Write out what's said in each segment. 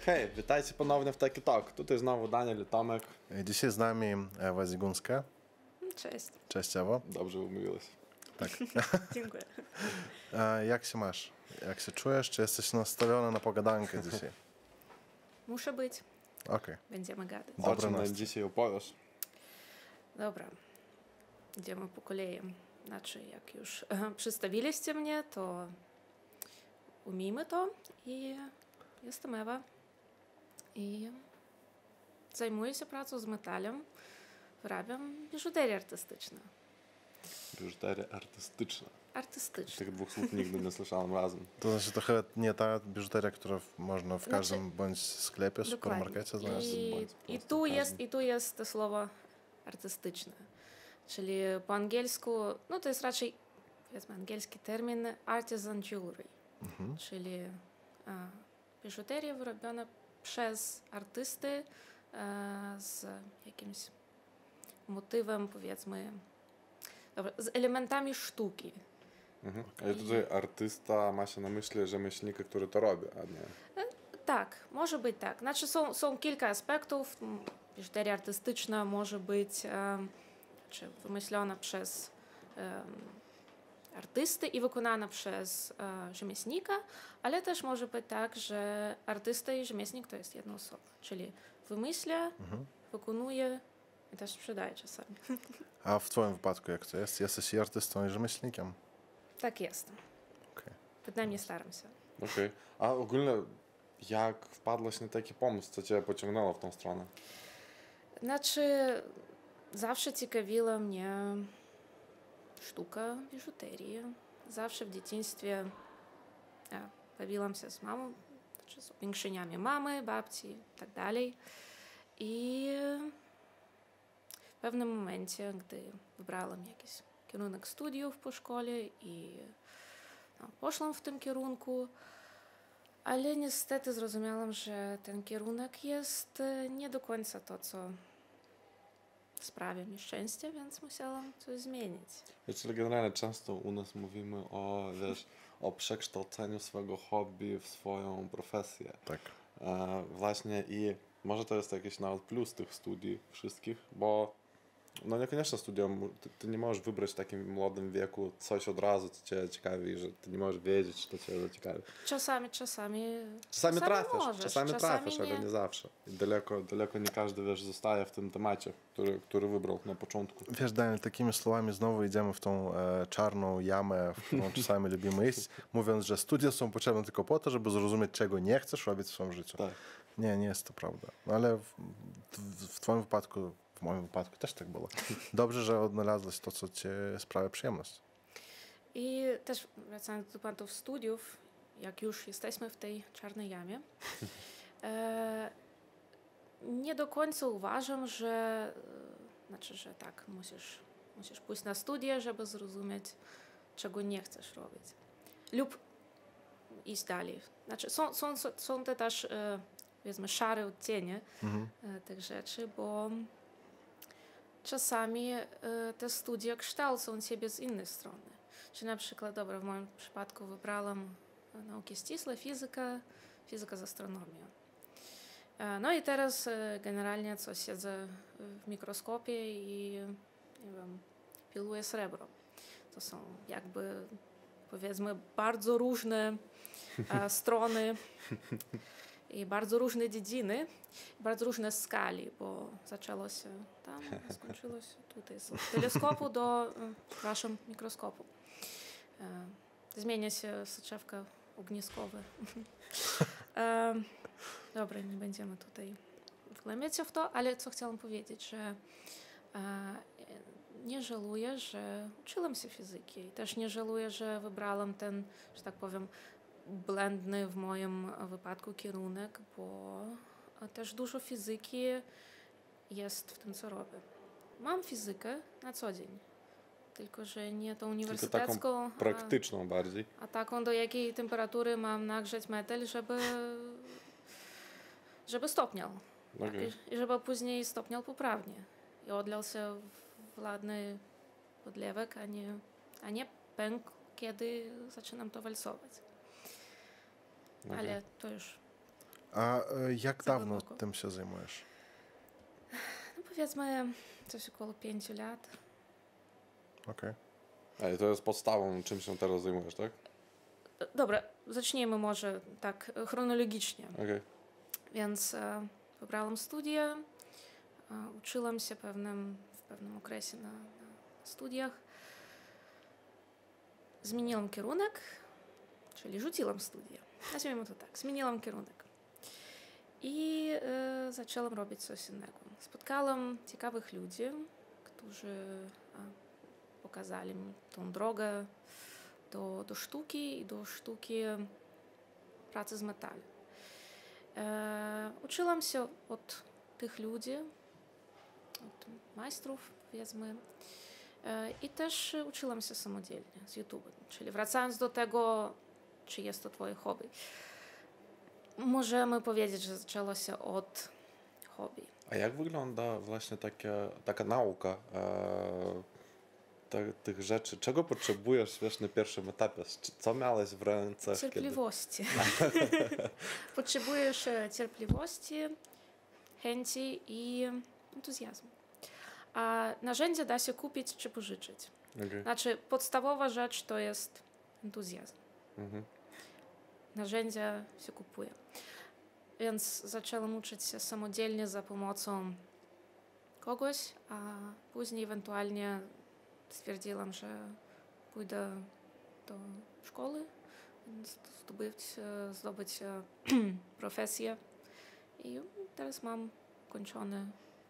Hej, witajcie ponownie w Taki Talk. Tutaj znowu Daniel i Tomek. Dzisiaj z nami Ewa Ziguńska. Cześć. Cześć, Ewo. Dobrze umówiłeś. Tak. Dziękuję. Jak się masz? Jak się czujesz? Czy jesteś nastawiona na pogadankę dzisiaj? Muszę być. Okej. Będziemy gadać. O czym nam dzisiaj opowiesz? Dobra. Idziemy po kolei. Znaczy, jak już przedstawiliście mnie, to umijmy to. I jestem Ewa. I zajmuję się pracą z metalem. Wyrabiam biżuterię artystyczną. Biżuteria artystyczna. Artystyczna. Tych dwóch słów nigdy nie słyszałem razem. To znaczy trochę nie ta biżuteria, która można w każdym bądź sklepie, supermarkecie znaleźć. I tu jest to słowo artystyczne. Czyli po angielsku, no to jest raczej, powiedzmy, angielski termin artisan jewelry. Czyli biżuteria wyrobiona przez artysty z jakimś motywem, powiedzmy, z elementami sztuki. Ale tutaj artysta ma się na myśli rzemieślnika, który to robi, a nie... Tak, może być tak. Znaczy są kilka aspektów. Biżuteria artystyczna może być wymyślona przez artysty i wykonana przez rzemieślnika, ale też może być tak, że artysta i rzemieślnik to jest jedna osoba. Czyli wymyśla, wykonuje i też sprzedaje czasami. A w twoim wypadku jak to jest? Jesteś i artystą, i rzemieślnikiem? Tak jest. Okay. Przynajmniej staram się. Okej. A ogólnie jak wpadłaś na taki pomysł? Co cię pociągnęło w tą stronę? Znaczy, zawsze ciekawiła mnie sztuka biżuterii. Zawsze w dzieciństwie bawiłam się z mamą, znaczy z upiększeniami mamy, babci i tak dalej. I w pewnym momencie, gdy wybrałam jakiś kierunek studiów po szkole i poszłam w tym kierunku, ale niestety zrozumiałam, że ten kierunek jest nie do końca to, co sprawia mi szczęście, więc musiałam coś zmienić. Czyli generalnie często u nas mówimy o przekształceniu swojego hobby w swoją profesję. Tak. Właśnie i może to jest jakiś nawet plus tych studii wszystkich, bo no niekoniecznie studium, ty nie możesz wybrać w takim młodym wieku coś od razu, co cię ciekawi, że ty nie możesz wiedzieć, czy to cię zaciekawi. Czasami trafisz, ale nie zawsze. I daleko nie każdy, zostaje w tym temacie, który wybrał na początku. Wiesz, Daniel, takimi słowami znowu idziemy w tą czarną jamę, w którą czasami lubimy iść, mówiąc, że studia są potrzebne tylko po to, żeby zrozumieć, czego nie chcesz robić w swoim życiu. Tak. Nie jest to prawda. No, ale w twoim wypadku, w moim wypadku też tak było. Dobrze, że odnalazłeś to, co cię sprawia przyjemność. I też wracając do tematów studiów, jak już jesteśmy w tej czarnej jamie, nie do końca uważam, że tak, musisz pójść na studia, żeby zrozumieć, czego nie chcesz robić. Lub iść dalej. Znaczy, są te też, powiedzmy, szare odcienie tych rzeczy, bo czasami te studia kształcą ciebie z innej strony. Czyli na przykład, w moim przypadku wybrałam nauki ścisłe, fizyka z astronomią. No i teraz generalnie siedzę w mikroskopie i nie wiem, piluję srebro. To są jakby, powiedzmy, bardzo różne strony i bardzo różne dziedziny, bardzo różne skali, bo zaczęło się tam, skończyło się tutaj. Z teleskopu do, mikroskopu. Zmienia się soczewka ogniskowa. Dobra, nie będziemy tutaj wgłębiać się w to, ale co chciałam powiedzieć, że nie żałuję, że uczyłam się fizyki i też nie żałuję, że wybrałam ten, że tak powiem, błędny w moim wypadku kierunek, bo też dużo fizyki jest w tym, co robię. Mam fizykę na co dzień, tylko że nie tą uniwersytecką, tylko taką praktyczną bardziej. A taką, do jakiej temperatury mam nagrzać metal, żeby stopniał. Okay. Tak, i żeby później stopniał poprawnie. I odlał się w ładny podlewek, a nie pękł, kiedy zaczynam to walcować. Okay. Ale to już A jak Za dawno głęboko. tym się zajmujesz? No powiedzmy coś około 5 lat. Okej. Ej, to jest podstawą, czym się teraz zajmujesz, tak? Dobra, zacznijmy może tak chronologicznie. Okej. Więc wybrałam studia, uczyłam się w pewnym okresie na studiach. Zmieniłam kierunek, czyli rzuciłam studia. Nazwijmy to tak, zmieniłam kierunek. I zaczęłam robić coś innego. Spotkałam ciekawych ludzi, którzy pokazali mi tą drogę do sztuki i do sztuki pracy z metalem. Uczyłam się od tych ludzi, od majstrów, powiedzmy, i też uczyłam się samodzielnie z YouTube. Czyli wracając do tego, czy jest to twoje hobby, możemy powiedzieć, że zaczęło się od hobby. A jak wygląda właśnie taka nauka tych rzeczy? Czego potrzebujesz, wiesz, na pierwszym etapie? Co miałeś w ręce? Cierpliwości. Potrzebujesz cierpliwości, chęci i entuzjazmu. A narzędzia da się kupić czy pożyczyć. Okay. Znaczy, podstawowa rzecz to jest entuzjazm. Mhm. Narzędzia się kupuje. Więc zaczęłam uczyć się samodzielnie za pomocą kogoś, a później ewentualnie stwierdziłam, że pójdę do szkoły, zdobyć profesję. I teraz mam kończony,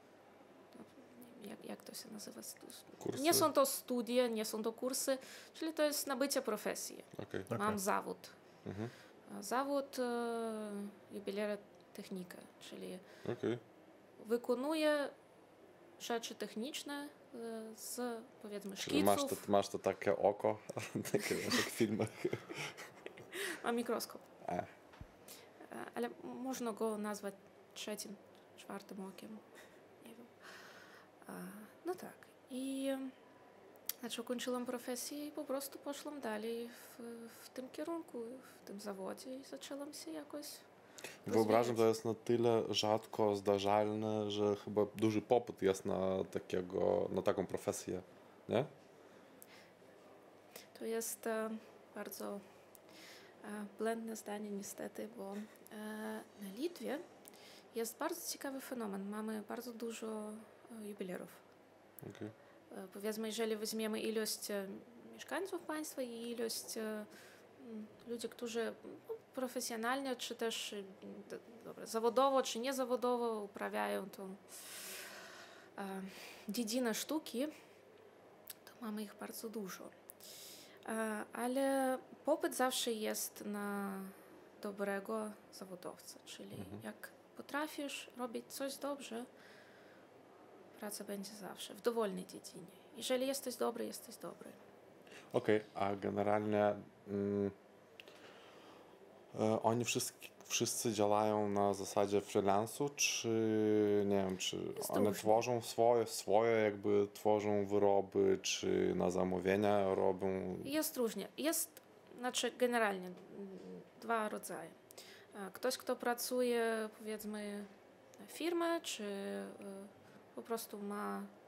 jak to się nazywa? Kursy? Nie są to studia, nie są to kursy, czyli to jest nabycie profesji. Okay. Mam zawód. Mhm. Zawód jubilera technika, czyli Okay. wykonuję rzeczy techniczne z, powiedzmy, Czyli szkiców. masz to takie oko, takie jak w filmach. Mam mikroskop. Ale można go nazwać trzecim, czwartym okiem. Nie wiem. No tak. I znaczy ukończyłam profesję i po prostu poszłam dalej w tym kierunku, w tym zawodzie i zaczęłam się jakoś Wyobrażam, to jest na tyle rzadko zdarzalne, że chyba duży popyt jest na taką profesję, nie? To jest bardzo błędne zdanie niestety, bo na Litwie jest bardzo ciekawy fenomen. Mamy bardzo dużo jubilerów. Okay. Powiedzmy, jeżeli weźmiemy ilość mieszkańców państwa i ilość ludzi, którzy profesjonalnie, czy też zawodowo, czy niezawodowo uprawiają tą dziedzinę sztuki, to mamy ich bardzo dużo. Ale popyt zawsze jest na dobrego zawodowca, czyli jak potrafisz robić coś dobrze, praca będzie zawsze w dowolnej dziedzinie. Jeżeli jesteś dobry, jesteś dobry. Okej, a generalnie oni wszyscy działają na zasadzie freelansu, czy nie wiem, czy oni różnie. tworzą swoje jakby tworzą wyroby, czy na zamówienia robią? Jest różnie. Znaczy generalnie dwa rodzaje. Ktoś, kto pracuje, powiedzmy, na firmę, czy po prostu ma